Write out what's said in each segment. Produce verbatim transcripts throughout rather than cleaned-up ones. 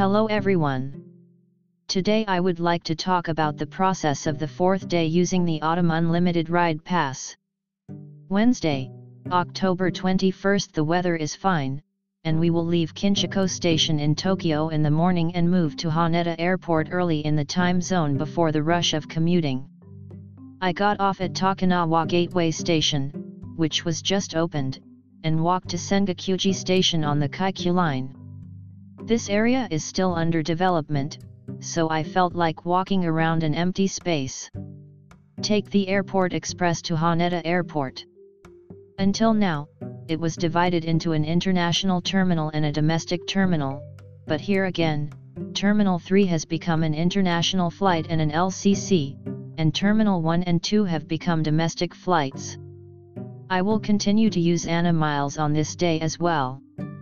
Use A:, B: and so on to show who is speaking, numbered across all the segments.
A: Hello everyone. Today I would like to talk about the process of the fourth day using the Autumn Unlimited Ride Pass. Wednesday, October twenty-first. The weather is fine, and we will leave Kinchiko Station in Tokyo in the morning and move to Haneda Airport early in the time zone before the rush of commuting. I got off at Takanawa Gateway Station, which was just opened, and walked to Sengakuji Station on the Kaikyu line. This area is still under development, so I felt like walking around an empty space. Take the Airport Express to Haneda Airport. Until now, it was divided into an international terminal and a domestic terminal, but here again, Terminal three has become an international flight and an L C C, and Terminal one and two have become domestic flights. I will continue to use ANA miles on this day as well.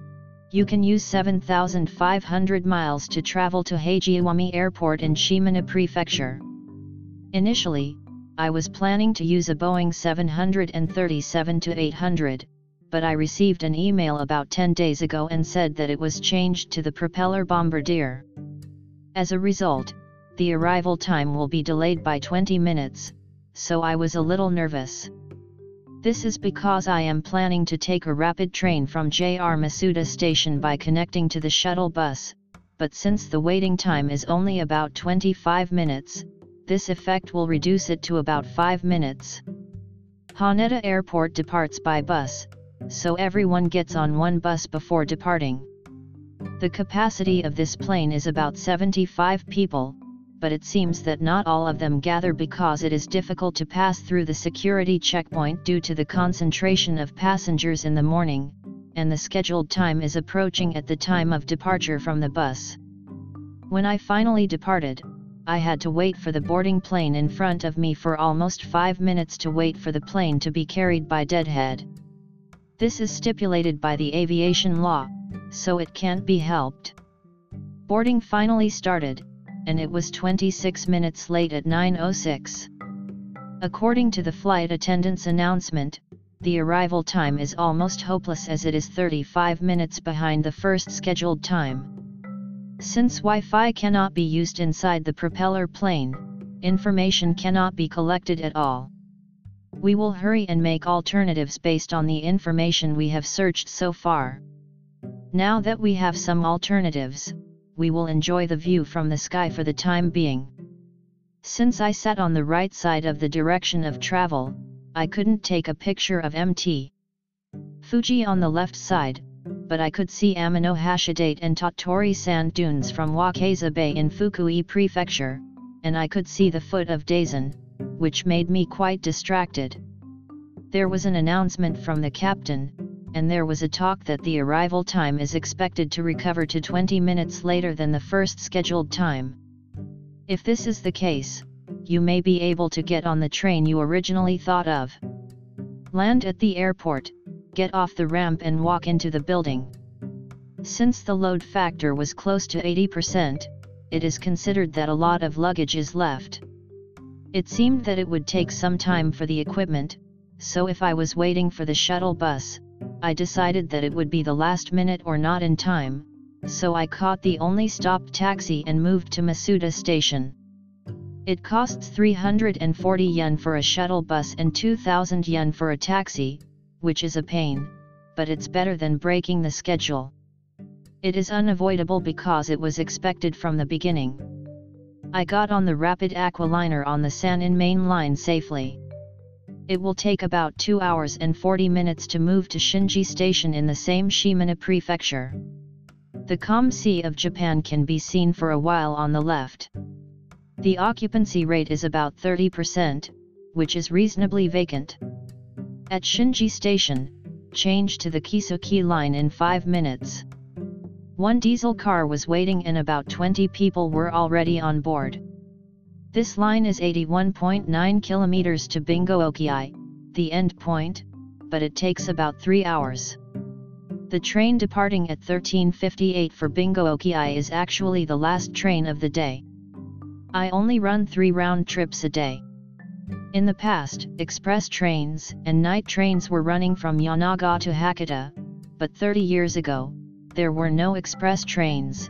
A: You can use seven thousand five hundred miles to travel to Heijiwami Airport in Shimane Prefecture. Initially, I was planning to use a Boeing seven thirty-seven eight hundred, but I received an email about ten days ago and said that it was changed to the propeller Bombardier. As a result, the arrival time will be delayed by twenty minutes, so I was a little nervous. This is because I am planning to take a rapid train from J R Masuda Station by connecting to the shuttle bus, but since the waiting time is only about twenty-five minutes, this effect will reduce it to about five minutes. Haneda Airport departs by bus, so everyone gets on one bus before departing. The capacity of this plane is about seventy-five people, but it seems that not all of them gather because it is difficult to pass through the security checkpoint due to the concentration of passengers in the morning, and the scheduled time is approaching at the time of departure from the bus. When I finally departed, I had to wait for the boarding plane in front of me for almost five minutes to wait for the plane to be carried by deadhead. This is stipulated by the aviation law, so it can't be helped. Boarding finally started, and it was twenty-six minutes late at nine oh six. According to the flight attendant's announcement, the arrival time is almost hopeless as it is thirty-five minutes behind the first scheduled time. Since Wi-Fi cannot be used inside the propeller plane, information cannot be collected at all. We will hurry and make alternatives based on the information we have searched so far. Now that we have some alternatives, we will enjoy the view from the sky for the time being. Since I sat on the right side of the direction of travel, I couldn't take a picture of M T Fuji on the left side, but I could see Amano Hashidate and Tottori sand dunes from Wakeza Bay in Fukui Prefecture, and I could see the foot of Daisen, which made me quite distracted. There was an announcement from the captain, and there was a talk that the arrival time is expected to recover to twenty minutes later than the first scheduled time. If this is the case, you may be able to get on the train you originally thought of. Land at the airport, get off the ramp and walk into the building. Since the load factor was close to eighty percent, it is considered that a lot of luggage is left. It seemed that it would take some time for the equipment, so if I was waiting for the shuttle bus, I decided that it would be the last minute or not in time, so I caught the only stopped taxi and moved to Masuda Station. It costs three hundred forty yen for a shuttle bus and two thousand yen for a taxi, which is a pain, but it's better than breaking the schedule. It is unavoidable because it was expected from the beginning. I got on the Rapid Aqualiner on the Sanin Main Line safely. It will take about two hours and forty minutes to move to Shinji Station in the same Shimane Prefecture. The Calm Sea of Japan can be seen for a while on the left. The occupancy rate is about thirty percent, which is reasonably vacant. At Shinji Station, change to the Kisuki line in five minutes. One diesel car was waiting and about twenty people were already on board. This line is eighty-one point nine kilometers to Bingo-Oki, the end point, but it takes about three hours. The train departing at thirteen fifty-eight for Bingo-Oki is actually the last train of the day. I only run three round trips a day. In the past, express trains and night trains were running from Yanaga to Hakata, but thirty years ago, there were no express trains,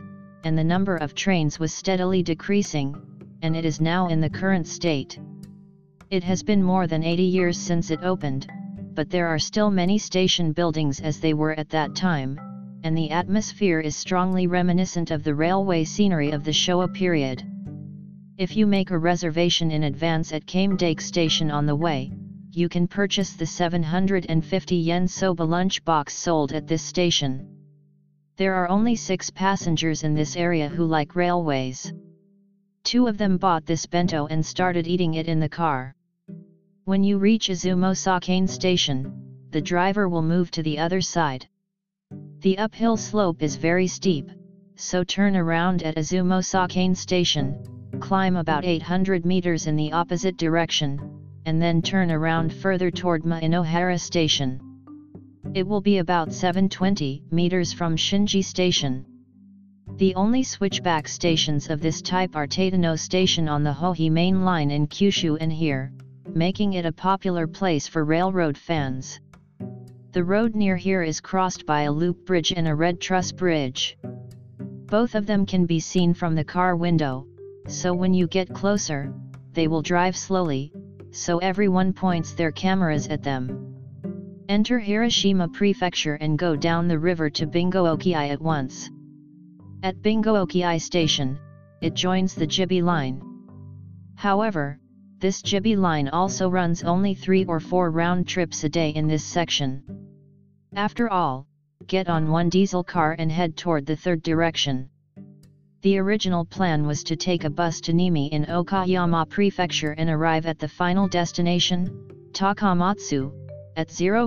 A: and the number of trains was steadily decreasing, and it is now in the current state. It has been more than eighty years since it opened, but there are still many station buildings as they were at that time, and the atmosphere is strongly reminiscent of the railway scenery of the Showa period. If you make a reservation in advance at Kamdake Station on the way, you can purchase the seven hundred fifty yen soba lunch box sold at this station. There are only six passengers in this area who like railways. Two of them bought this bento and started eating it in the car. When you reach Izumo Sakane Station, the driver will move to the other side. The uphill slope is very steep, so turn around at Izumo Sakane Station, climb about eight hundred meters in the opposite direction, and then turn around further toward Mainohara Station. It will be about seven hundred twenty meters from Shinji Station. The only switchback stations of this type are Tateno Station on the Hohi Main Line in Kyushu and here, making it a popular place for railroad fans. The road near here is crossed by a loop bridge and a red truss bridge. Both of them can be seen from the car window, so when you get closer, they will drive slowly, so everyone points their cameras at them. Enter Hiroshima Prefecture and go down the river to Bingo-Oki at once. At Bingo-Oki Station, it joins the Jibi line. However, this Jibi line also runs only three or four round trips a day in this section. After all, get on one diesel car and head toward the third direction. The original plan was to take a bus to Nimi in Okayama Prefecture and arrive at the final destination, Takamatsu, at zero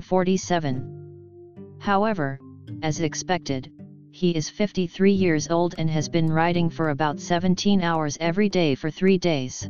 A: forty-seven. However, as expected, he is fifty-three years old and has been riding for about seventeen hours every day for three days.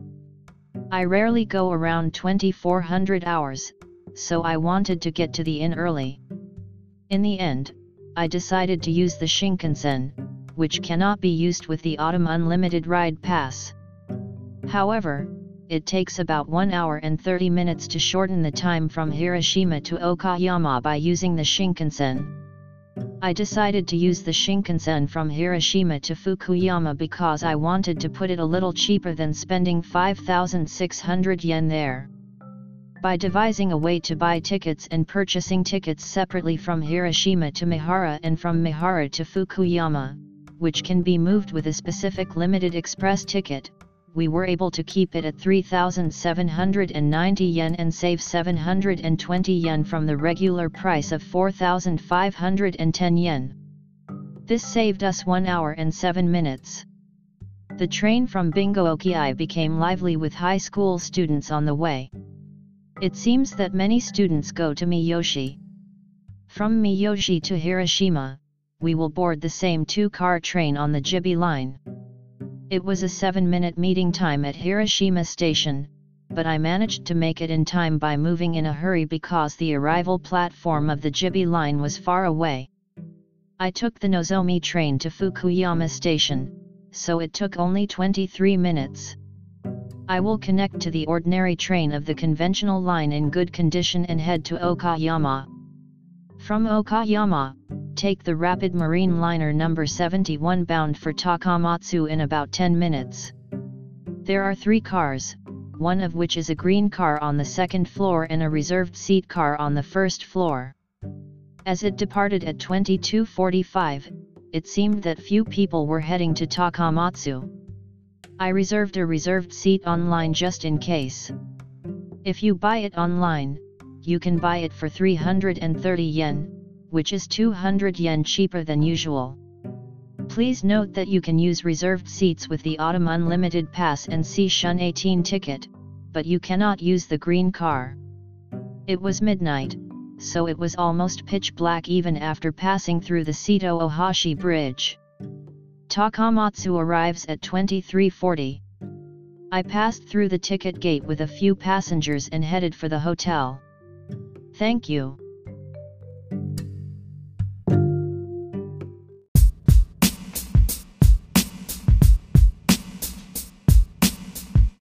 A: I rarely go around twenty-four hundred hours, so I wanted to get to the inn early. In the end, I decided to use the Shinkansen, which cannot be used with the Autumn Unlimited Ride Pass. However, it takes about one hour and thirty minutes to shorten the time from Hiroshima to Okayama by using the Shinkansen. I decided to use the Shinkansen from Hiroshima to Fukuyama because I wanted to put it a little cheaper than spending five thousand six hundred yen there. By devising a way to buy tickets and purchasing tickets separately from Hiroshima to Mihara and from Mihara to Fukuyama, which can be moved with a specific limited express ticket, we were able to keep it at three thousand seven hundred ninety yen and save seven hundred twenty yen from the regular price of four thousand five hundred ten yen. This saved us one hour and seven minutes. The train from Bingo-Oki became lively with high school students on the way. It seems that many students go to Miyoshi. From Miyoshi to Hiroshima, we will board the same two-car train on the Jibi line. It was a seven-minute meeting time at Hiroshima Station, but I managed to make it in time by moving in a hurry because the arrival platform of the Jibi line was far away. I took the Nozomi train to Fukuyama Station, so it took only twenty-three minutes. I will connect to the ordinary train of the conventional line in good condition and head to Okayama. From Okayama, take the Rapid Marine Liner number seventy-one bound for Takamatsu in about ten minutes. There are three cars, one of which is a green car on the second floor and a reserved seat car on the first floor. As it departed at twenty-two forty-five, it seemed that few people were heading to Takamatsu. I reserved a reserved seat online just in case. If you buy it online, you can buy it for three hundred thirty yen, which is two hundred yen cheaper than usual. Please note that you can use reserved seats with the Autumn Unlimited Pass and C Shun eighteen ticket, but you cannot use the green car. It was midnight, so it was almost pitch black even after passing through the Seto Ohashi Bridge. Takamatsu arrives at twenty-three forty. I passed through the ticket gate with a few passengers and headed for the hotel. Thank you.